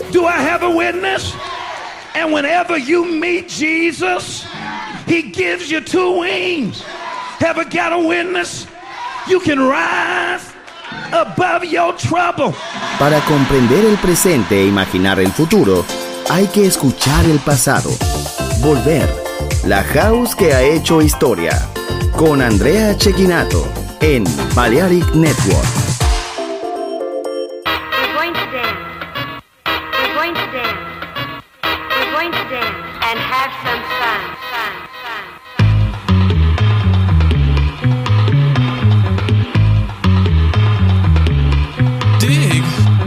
Do I have a witness? And whenever you meet Jesus, he gives you two wings. Ever got a witness? You can rise above your trouble. Para comprender el presente e imaginar el futuro, hay que escuchar el pasado. Volver. La house que ha hecho historia. Con Andrea Cecchinato en Balearic Network. We're going to dance. We're going to dance. We're going to dance and have some fun. Dig.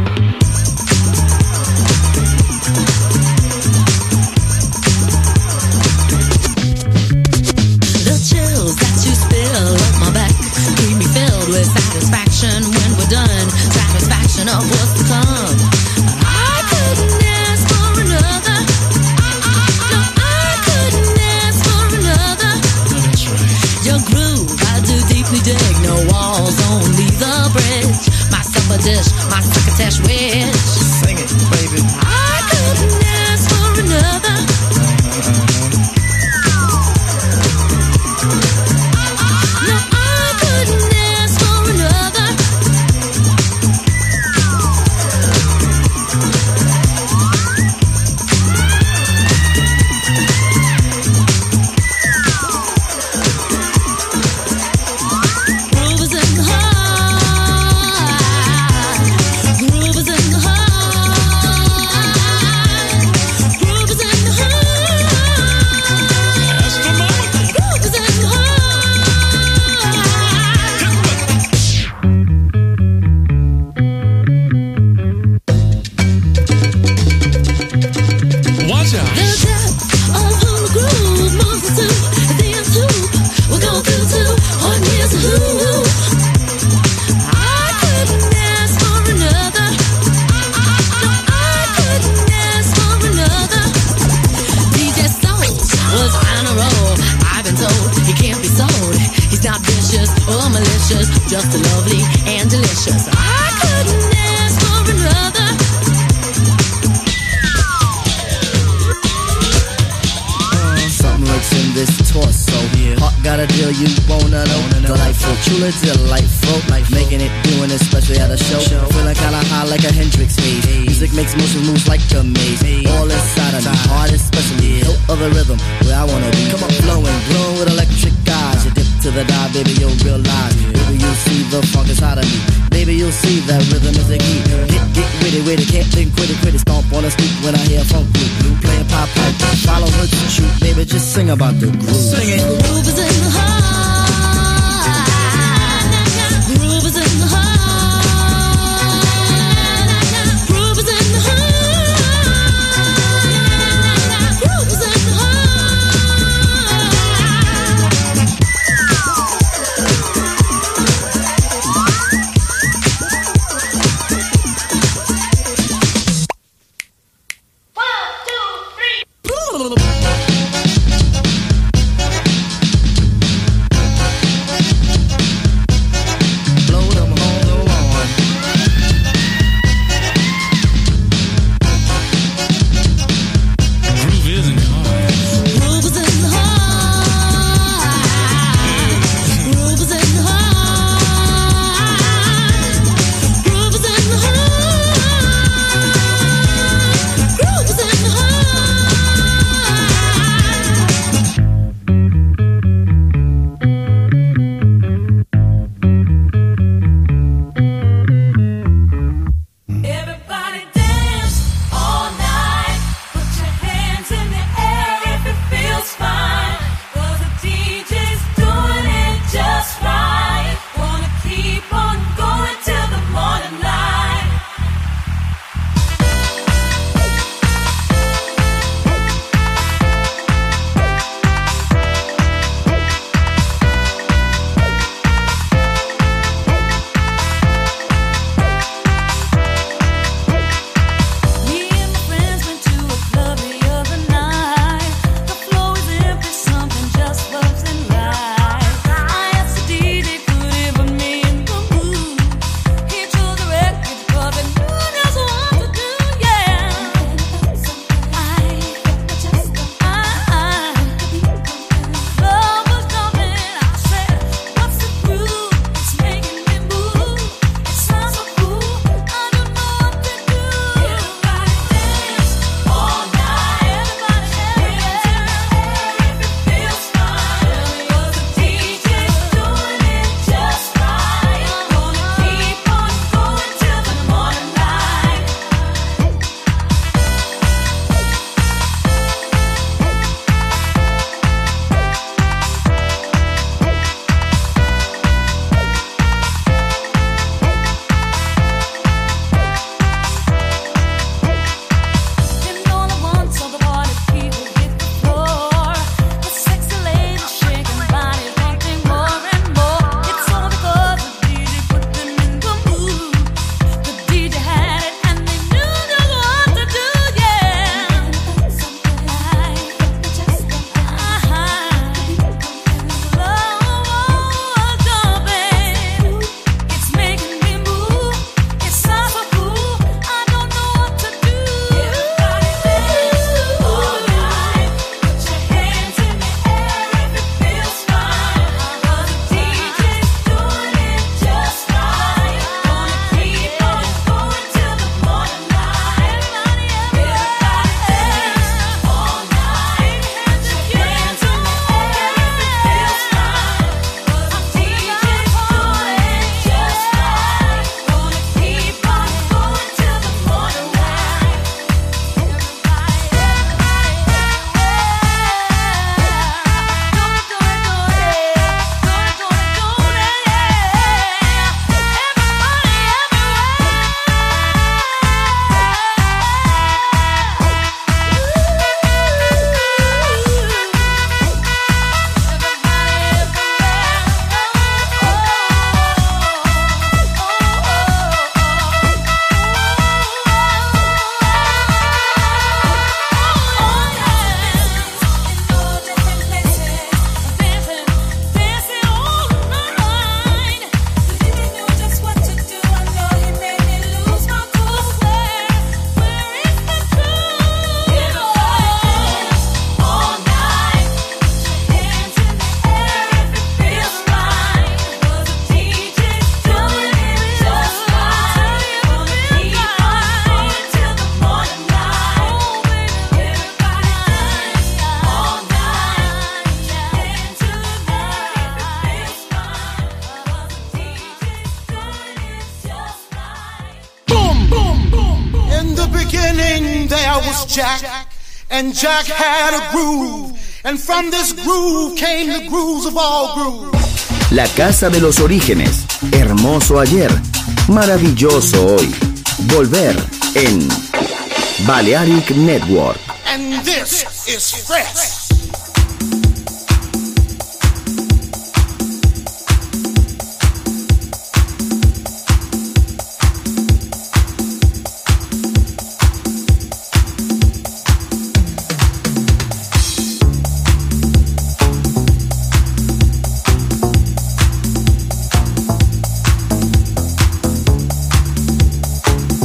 The chills that you spill up my back keep me filled with satisfaction when we're done. Satisfaction of what's to come. I couldn't ask for another. No, I couldn't ask for another. Your groove, I do deeply dig. No walls, only the bridge. My supper dish, my succotash wish. Sing it, baby. I couldn't ask for another. No, I couldn't ask for another. Groove is in the heart. Groove is in the heart. Groove is in the heart. Groove is in the heart. Watch out. The depth of who the groove moves us to. At the end tube, we'll go through to on years of who. I couldn't ask for another. No, I couldn't ask for another. DJ Soul was on a roll. I've been told he can't be sold. He's not vicious or malicious, just lovely and delicious. I couldn't ask for another. Something lurks in this torso. Heart got a deal you wanna know. Delightful, truly delightful. Making it, doing it, especially at a show. Feeling kinda high like a Hendrix haze. Music makes motion moves like a maze. All inside of me, heart especially. Hilt of the rhythm, where I wanna be. Come on, blowing, glowing with electric eyes. You dip to the dive, baby, you'll realize. Baby, you'll see the funk inside of me. Baby, you'll see that rhythm is a key. Get witty, can't think quitty. Stomp on the street when I hear funk blue. Playing pop pipe, follow her to shoot. Baby, just sing about the groove. Sing it. Groove is in the heart. Groove is in the heart. Groove is in the heart. Groove is in the heart. there was Jack, and Jack had a groove, and from this groove came the grooves of all grooves. La casa de los orígenes, hermoso ayer, maravilloso hoy. Volver en Balearic Network. And this is fresh.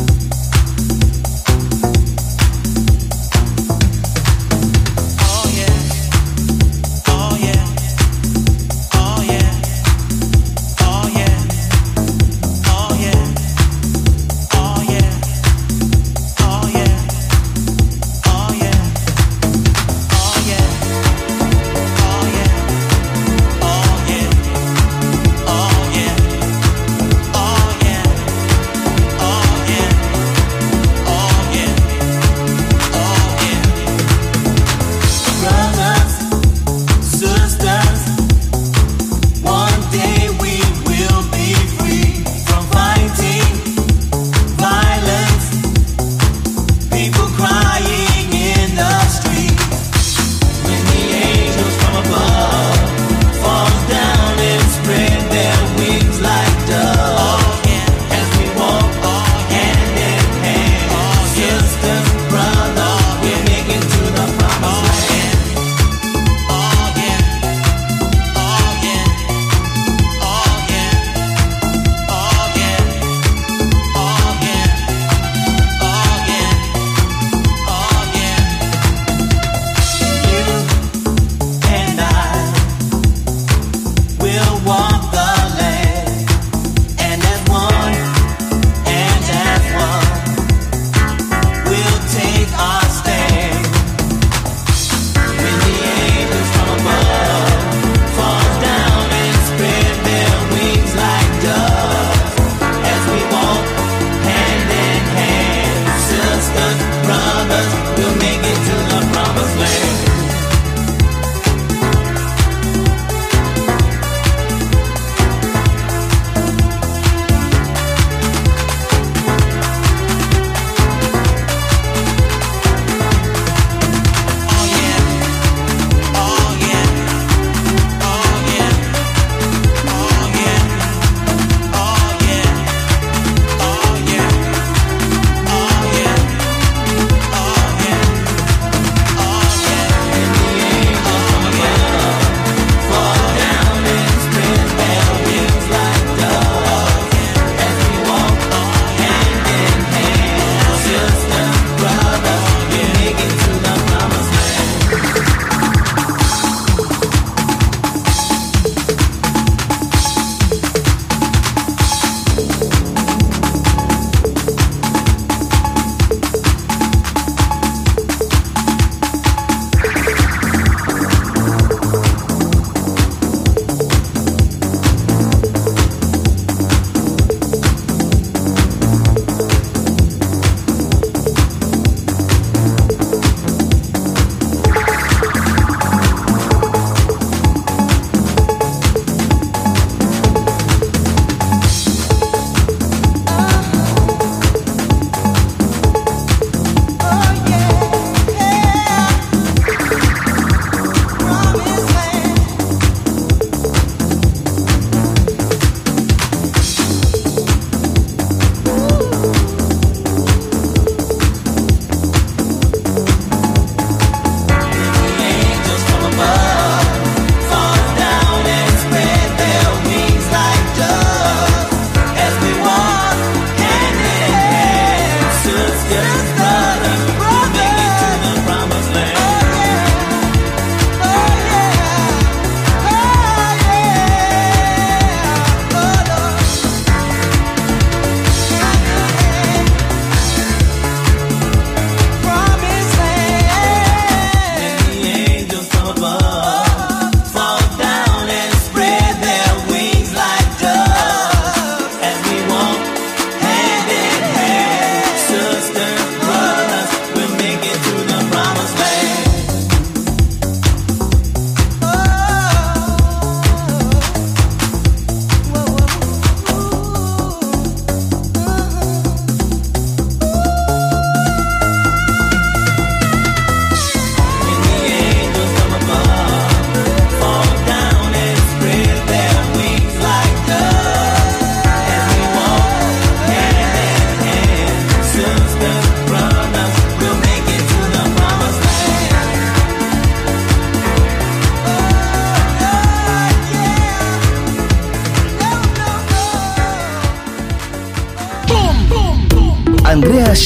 Oh yeah.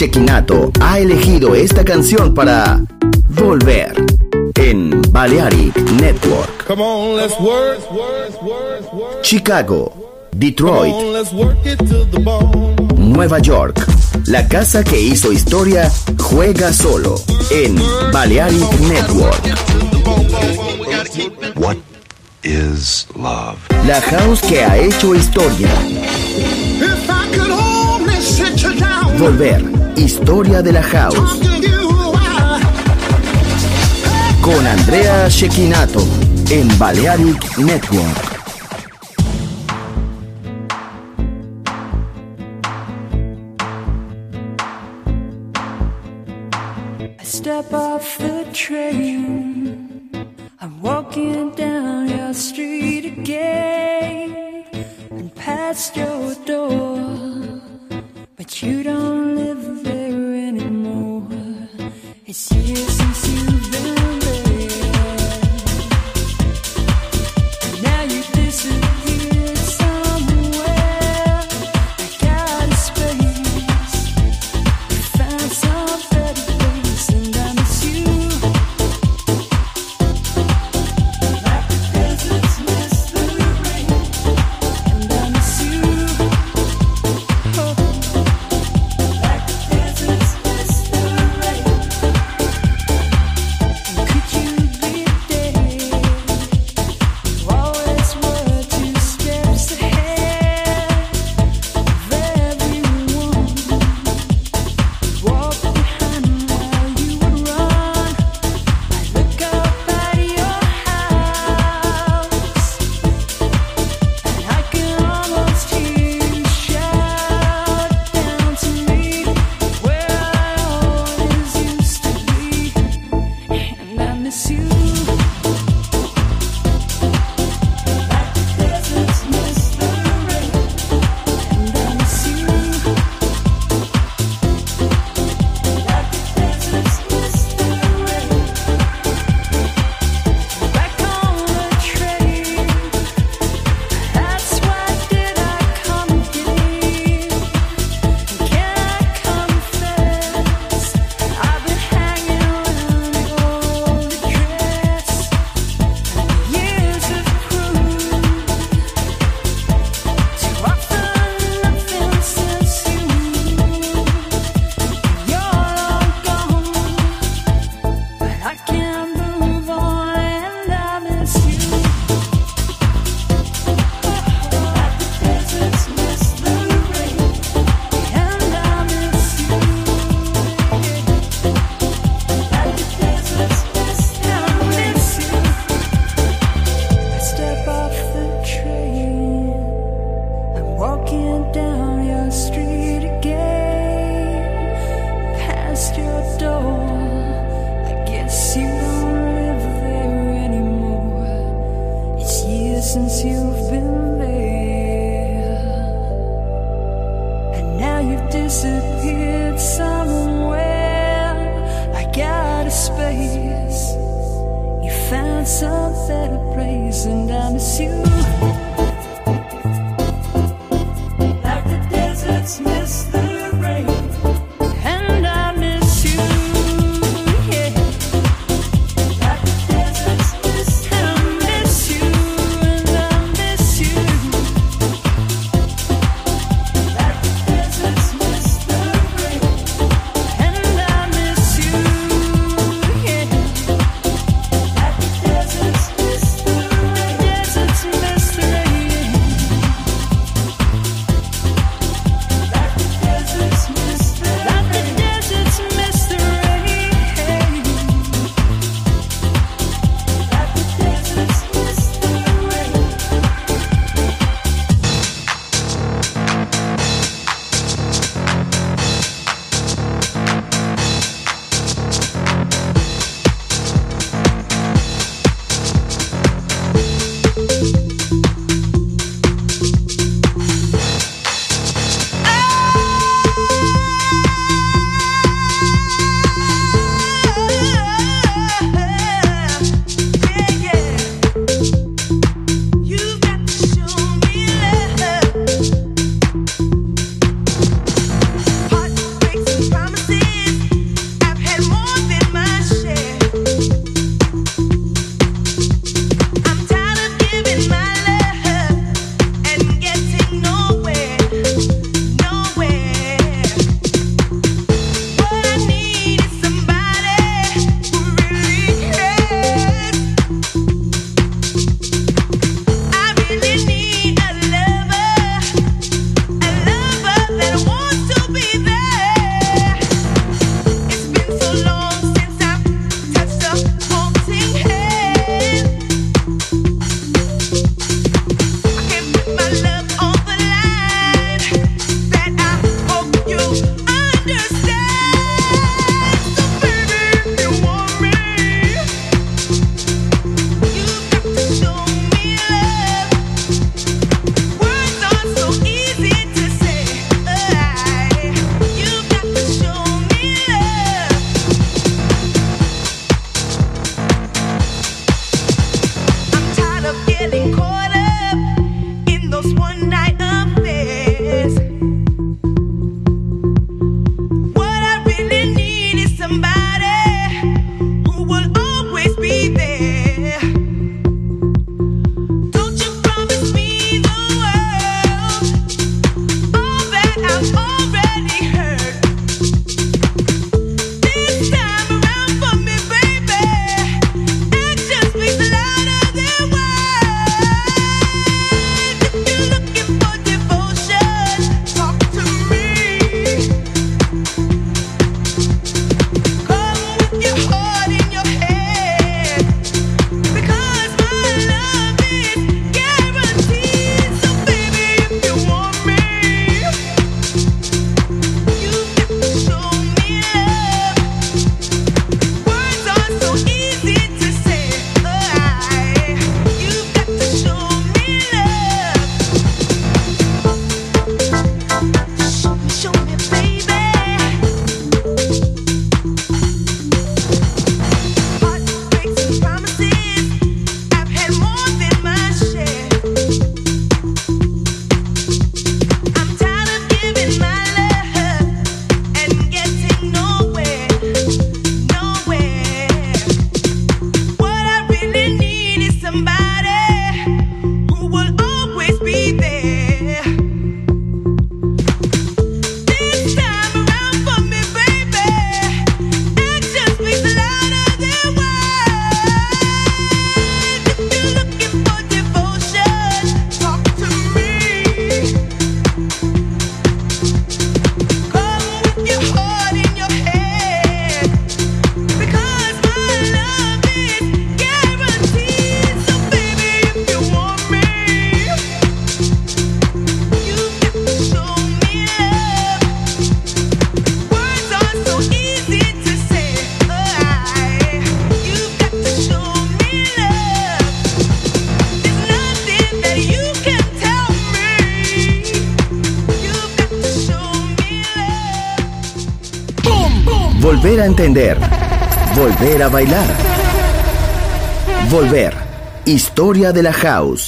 Shekinato ha elegido esta canción para volver en Balearic Network. Come on, let's work. Chicago, Detroit, Come on, let's work it to the bone. Nueva York. La casa que hizo historia juega solo en Balearic Network. What is love? La house que ha hecho historia. If I could only sit you down, Volver, historia de la house. talk to you while Con Andrea Shekinato en Balearic Network. I step off the train, I'm walking down your street again and past your door, but you don't live there anymore. It's years since you've been there, and now you disappeared somewhere. I got a space, found some better place, and I miss you. Like the deserts miss the rain, and I miss you. Oh, like the deserts miss the rain. And could you be there? You always were 2 steps ahead of everyone. Walk behind while you would run. I look up at your house, and I can almost hear you shout down to me where I always used to be, and I miss you. Like the deserts miss the rain, and I miss you. Like the deserts miss the rain. Back on the train, that's why did I come here? Can I confess, I've been hanging around your old address. Years have proved to offer nothing since you're long gone, but I can't move on and I miss you. Like the deserts miss the rain, and I miss you. Like the deserts miss the rain, I miss you. I step off the train, I'm walking down your street again, past your door. I guess you don't live there anymore. It's years since you've been there, and now you've disappeared somewhere. I got a space, you found some better place, and I miss you. Like the deserts miss the rain, and I miss you. Yeah. Like the deserts miss the rain, and I miss you, and I miss you. Like the deserts miss the rain, and I miss you. Yeah. Like the deserts miss the rain, deserts miss the rain. Volver a entender. Volver a bailar. Volver. Historia de la house.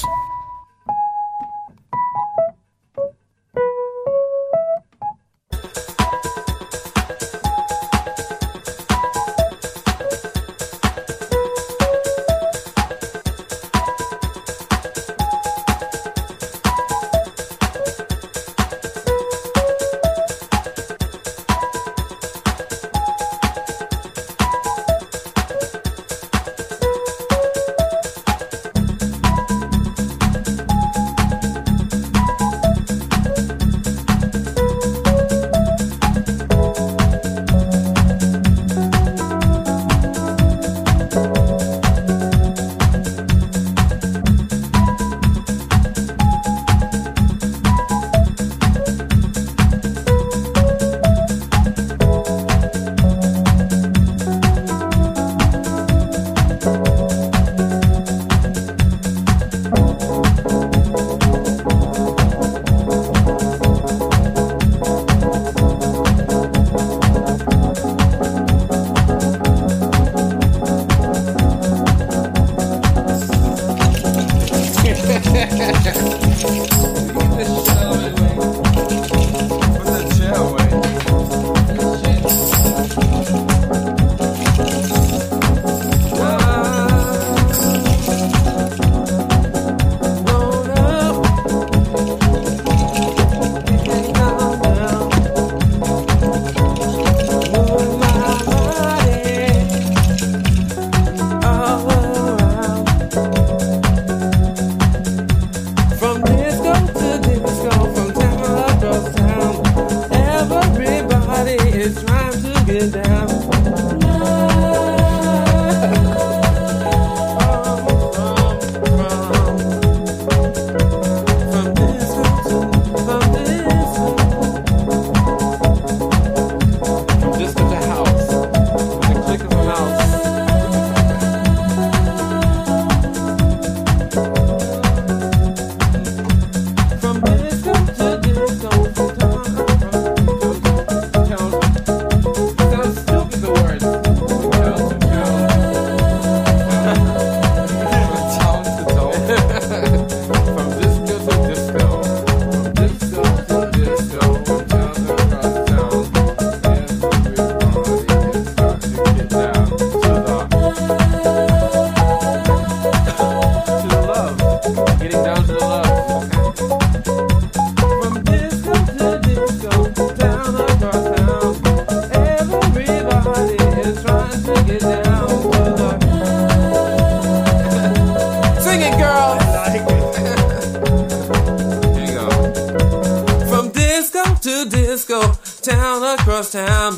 Town.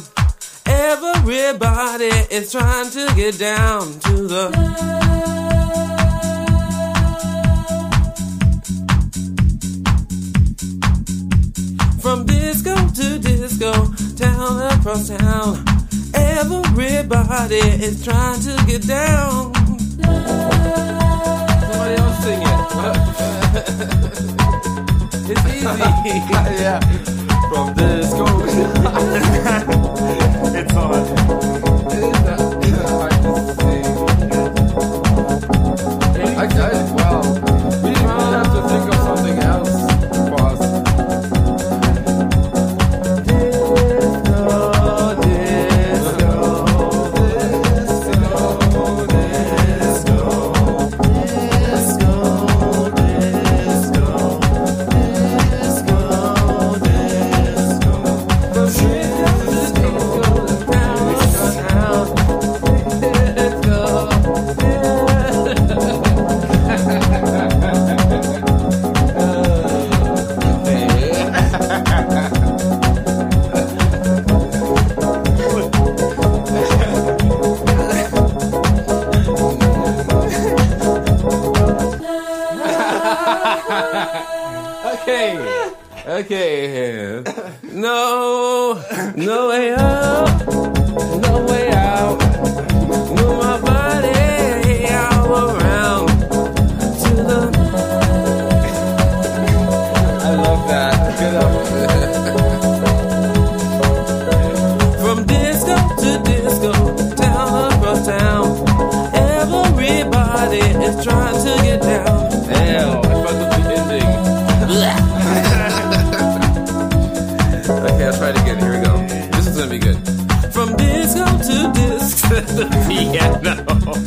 Everybody is trying to get down to the from disco to disco, town across town. Everybody is trying to get down. Somebody else sing it. It's easy. Yeah. From disco. It's on. It's hard to sing. Well, we have to think of something else for us. Okay. No way up, no way out. Move my body all around to the. I love that. Good up. From disco to trying to get down. Damn, I fucked up the ending. Okay, I'll try it again. Here we go. This is gonna be good. From disco to disc to the piano.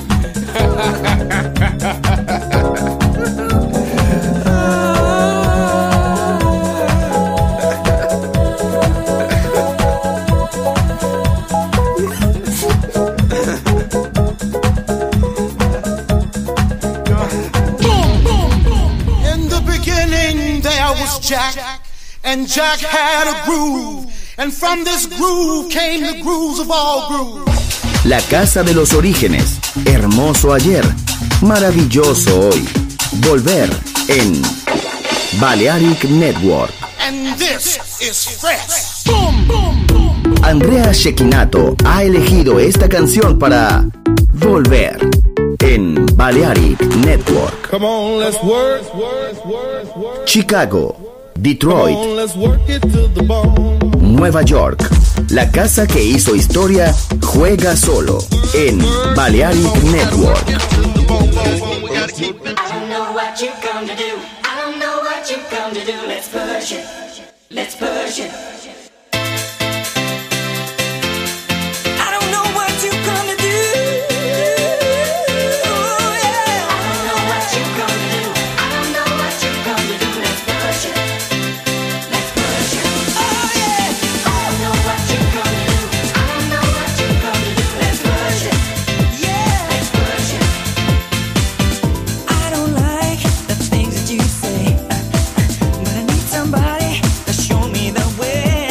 In the beginning there was Jack, and Jack had a groove, and from this groove came the grooves of all grooves. La casa de los orígenes, hermoso ayer, maravilloso hoy. Volver en Balearic Network. And this is fresh. Boom, boom, boom. Andrea Cecchinato ha elegido esta canción para Volver en Balearic Network. Come on, let's work. Chicago, Come Detroit, on, let's work it to the bone. Nueva York. La casa que hizo historia juega solo en Balearic Network. I don't know what you come to do. I don't know what you come to do. Let's push it. Let's push it. I don't know what you come to do. Oh, yeah. I don't know what you come to do. I don't know what you come to do. Let's push it. Let's push it. Oh, yeah. I don't know what you come to do. I don't know what you come to do. Let's push it. Yeah. Let's push it. I don't like the things that you say, but I need somebody to show me the way.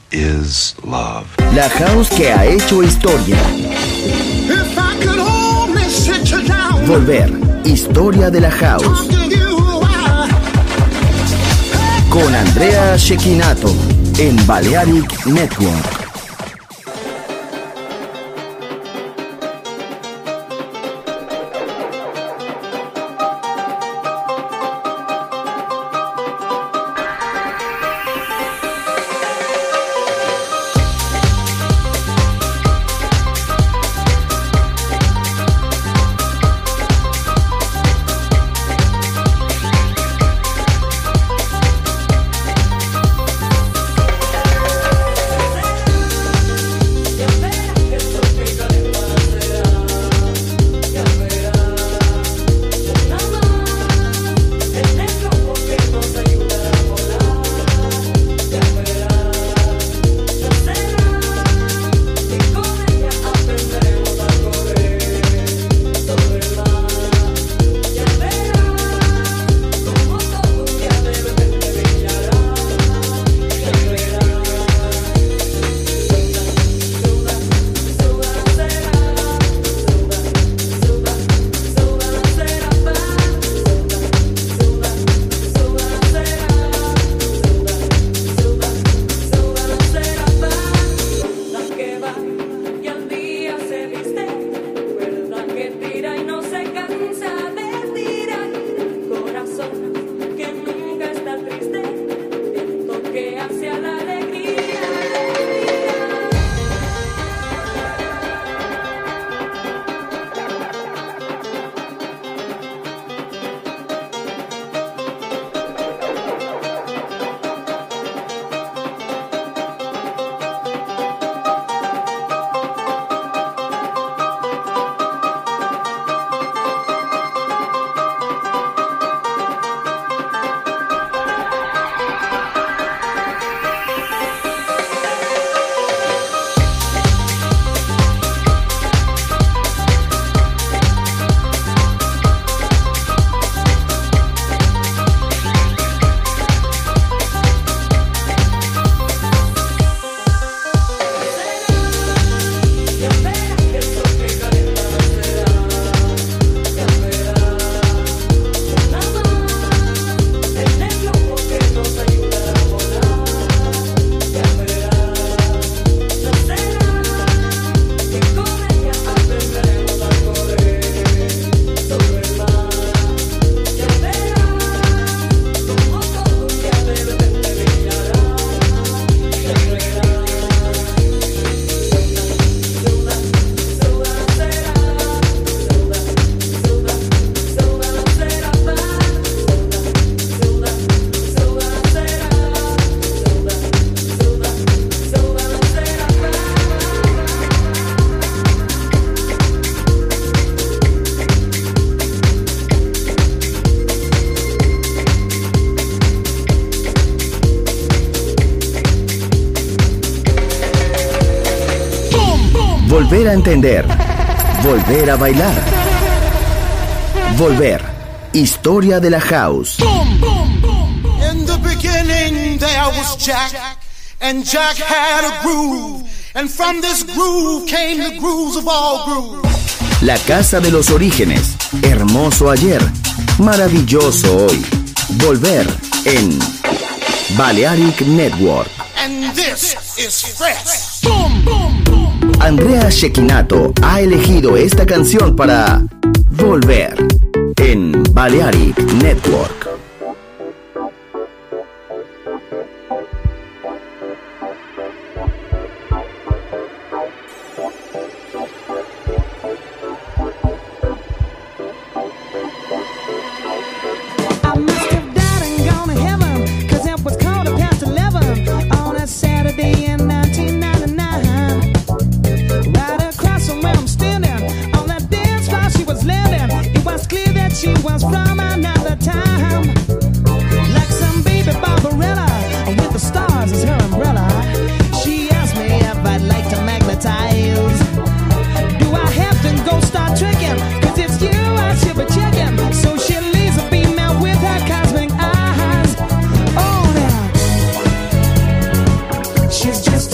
is love. La house que ha hecho historia. If I could only sit you down, Volver. Historia de la house. talk to you, Con Andrea Cecchinato en Balearic Network. Volver a entender. Volver a bailar. Volver. Historia de la house. In the beginning there was Jack, and Jack had a groove, and from this groove came the grooves of all grooves. La casa de los orígenes. Hermoso ayer. Maravilloso hoy. Volver en Balearic Network. And this is fresh. Andrea Cecchinato ha elegido esta canción para Volver en Balearic Network. She was from another time, like some baby Barbarella with the stars as her umbrella. She asked me if I'd like to magnetize. Do I have to go start tricking? Cause it's you I should be checking. So she laser beam out with her cosmic eyes. Oh now, she's just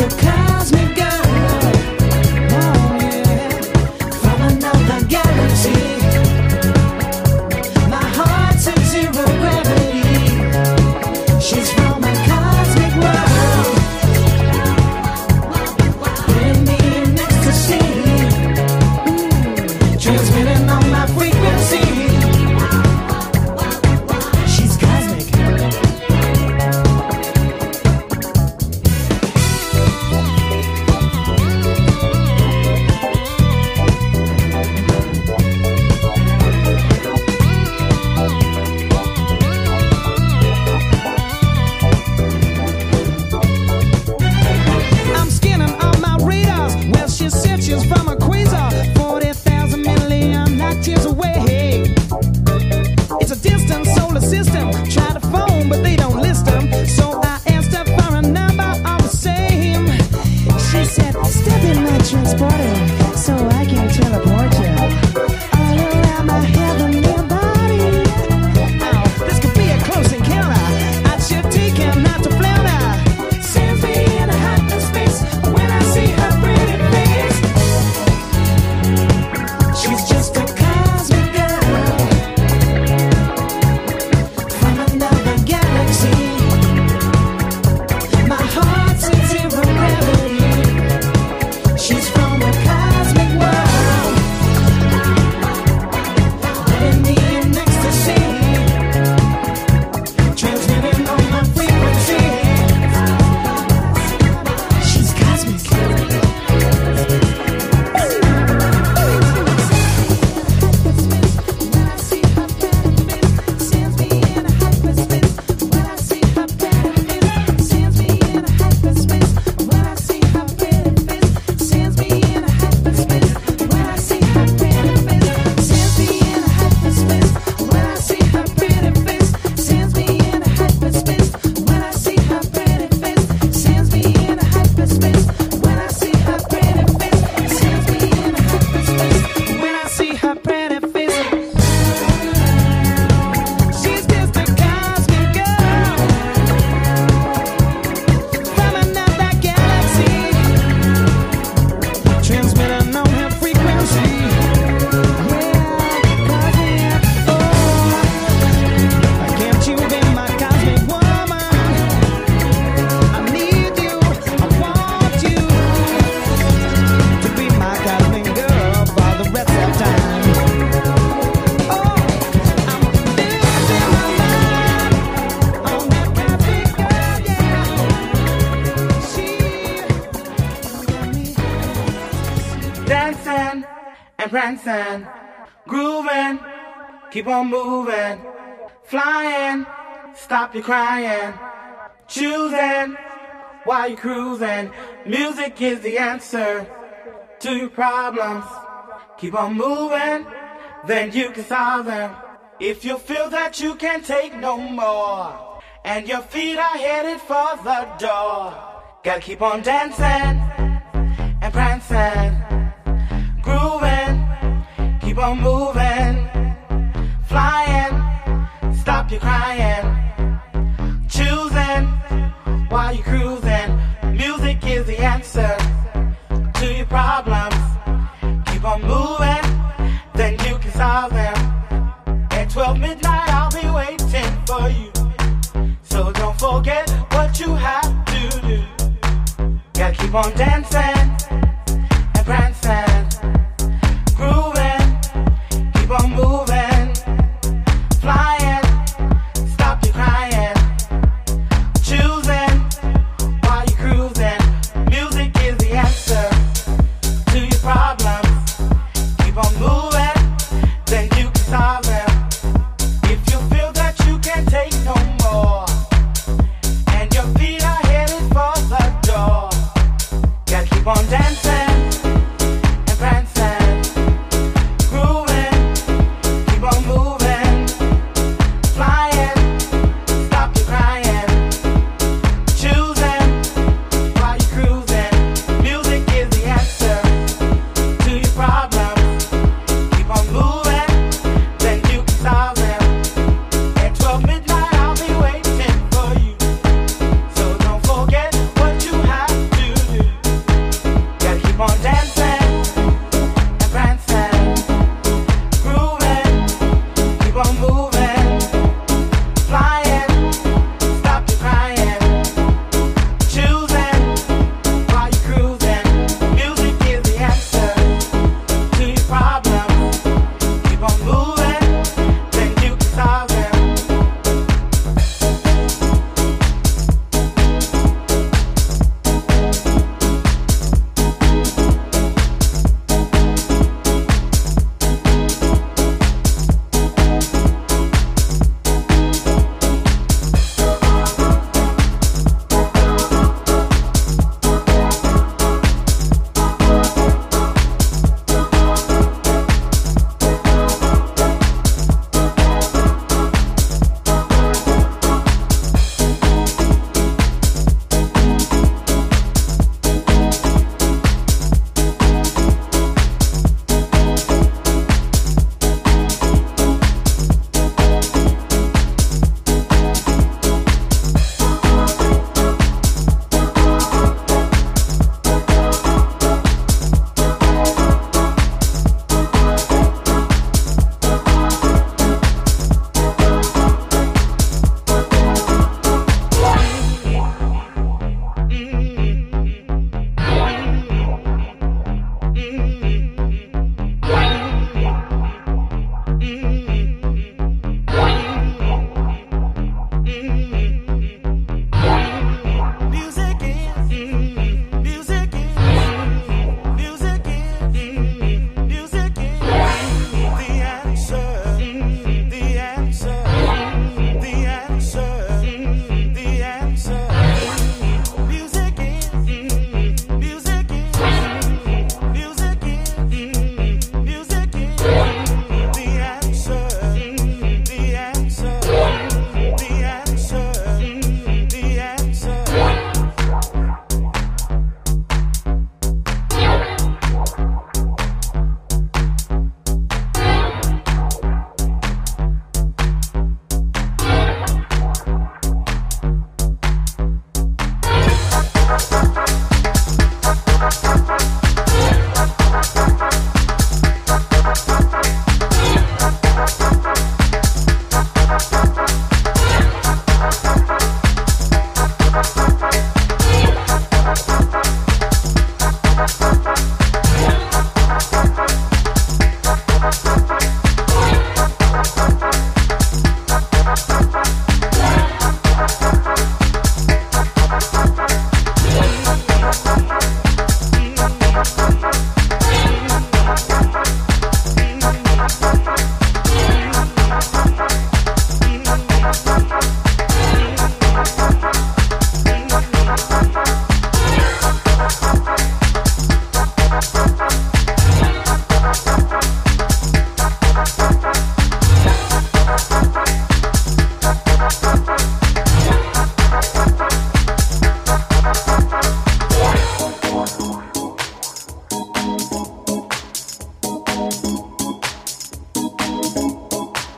and prancing, grooving, keep on moving, flying, stop your crying, choosing while you're cruising. Music is the answer to your problems. Keep on moving, then you can solve them. If you feel that you can't take no more, and your feet are headed for the door, gotta keep on dancing and prancing, grooving, keep on moving, flying, stop your crying, choosing while you're cruising. Music is the answer to your problems. Keep on moving, then you can solve them. At 12 midnight I'll be waiting for you, so don't forget what you have to do. Gotta keep on dancing and prancing, grooving, keep on moving, flying, stop your crying, choosing while you're cruising. Music is the answer to your problems. Keep on moving, then you can solve them. If you feel that you can't take no more, and your feet are headed for the door, gotta keep on dancing and prancing, grooving, keep on moving, flying, stop your crying, choosing while you're cruising. Music is the answer to your problems. Keep on moving, then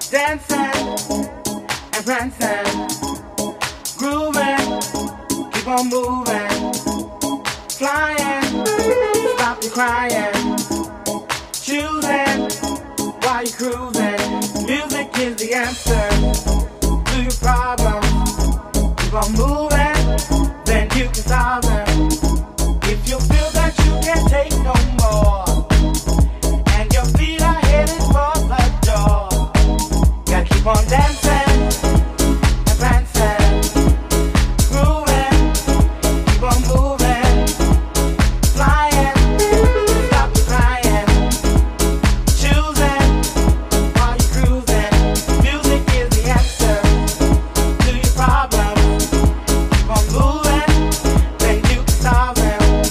dancing and prancing, grooving, keep on moving, flying, stop your crying, choosing while you're cruising. Music is the answer to your problems. Keep on moving, then you can solve them. If you feel that you can't take no more, and your feet are headed for the door, gotta keep on dancing and prancing, grooving, keep on moving, flying, stop your crying, choosing while you're cruising. Music is the answer to your problems. Keep on moving, then you can solve them.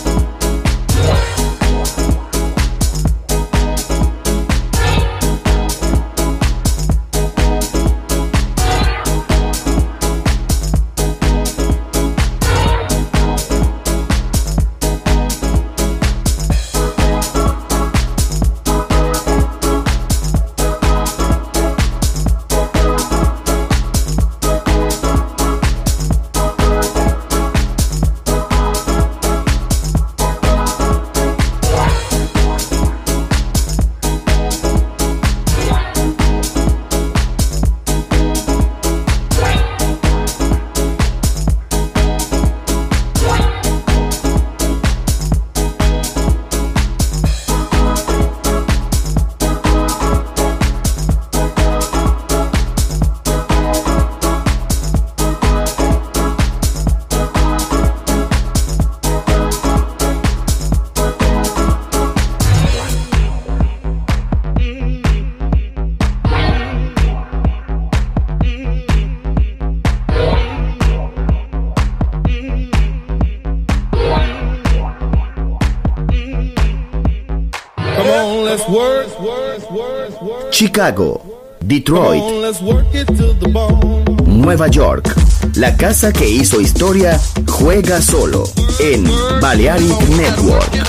Chicago, Detroit, Nueva York. La casa que hizo historia juega solo en Balearic Network.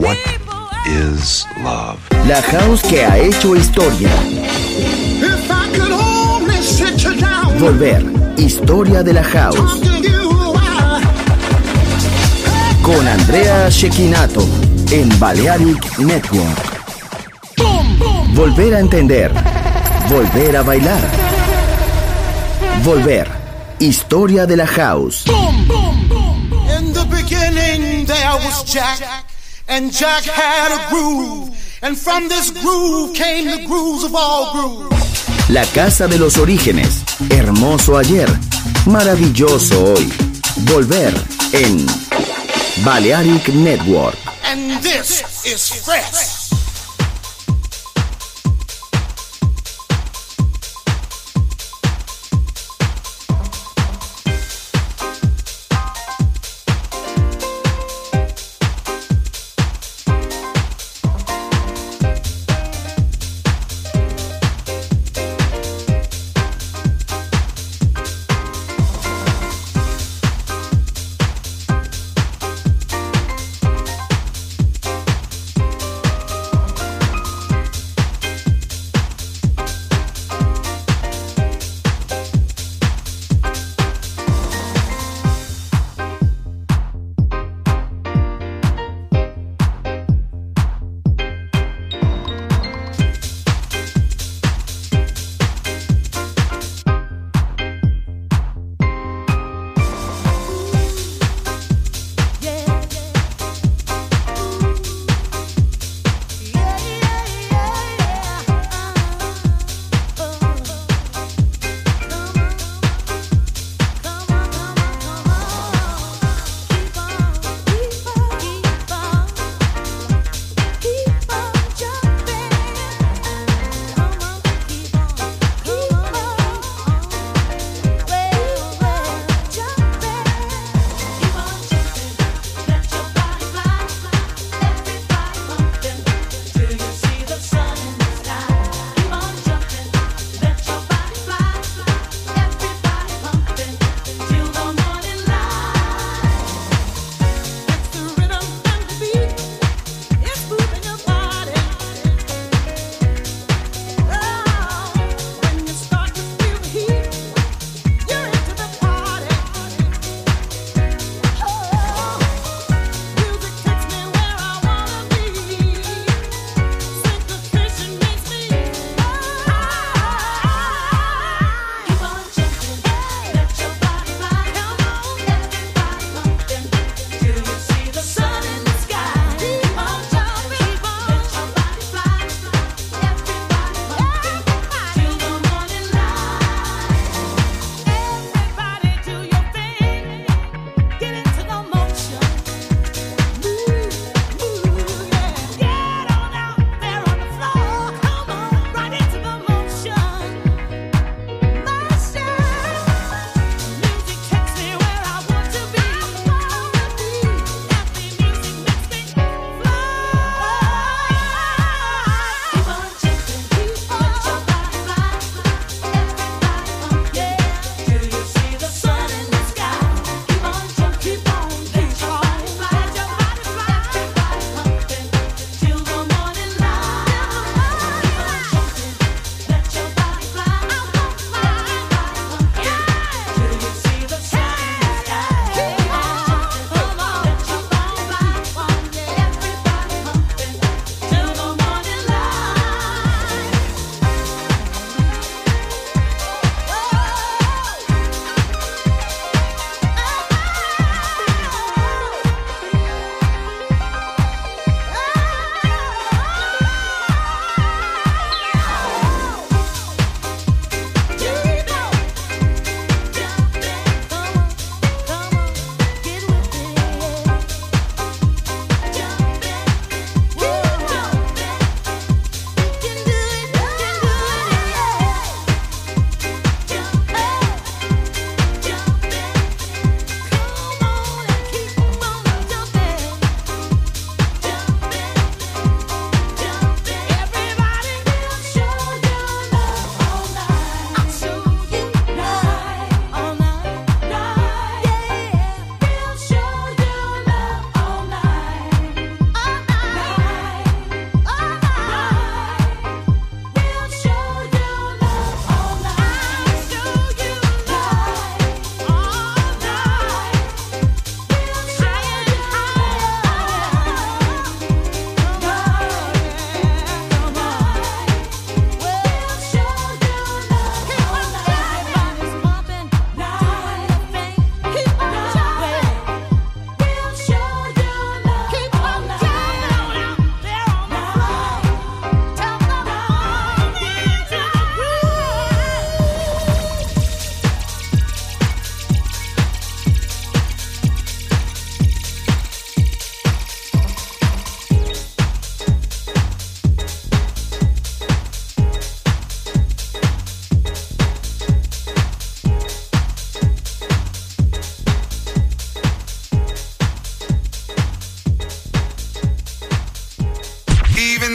What is love? La house que ha hecho historia. If I could only sit you down, Volver. Historia de la house. talk to you, Con Andrea Cecchinato en Balearic Network. Volver a entender. Volver a bailar. Volver. Historia de la house. In the beginning there was Jack, and Jack had a groove, and from this groove came the grooves of all grooves. La casa de los orígenes. Hermoso ayer. Maravilloso hoy. Volver en Balearic Network. And this is fresh.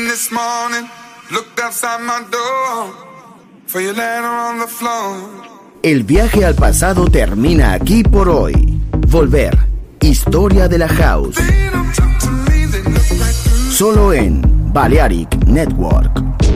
this morning, looked outside my door for your letter on the floor. El viaje al pasado termina aquí por hoy. Volver. Historia de la House. Solo en Balearic Network.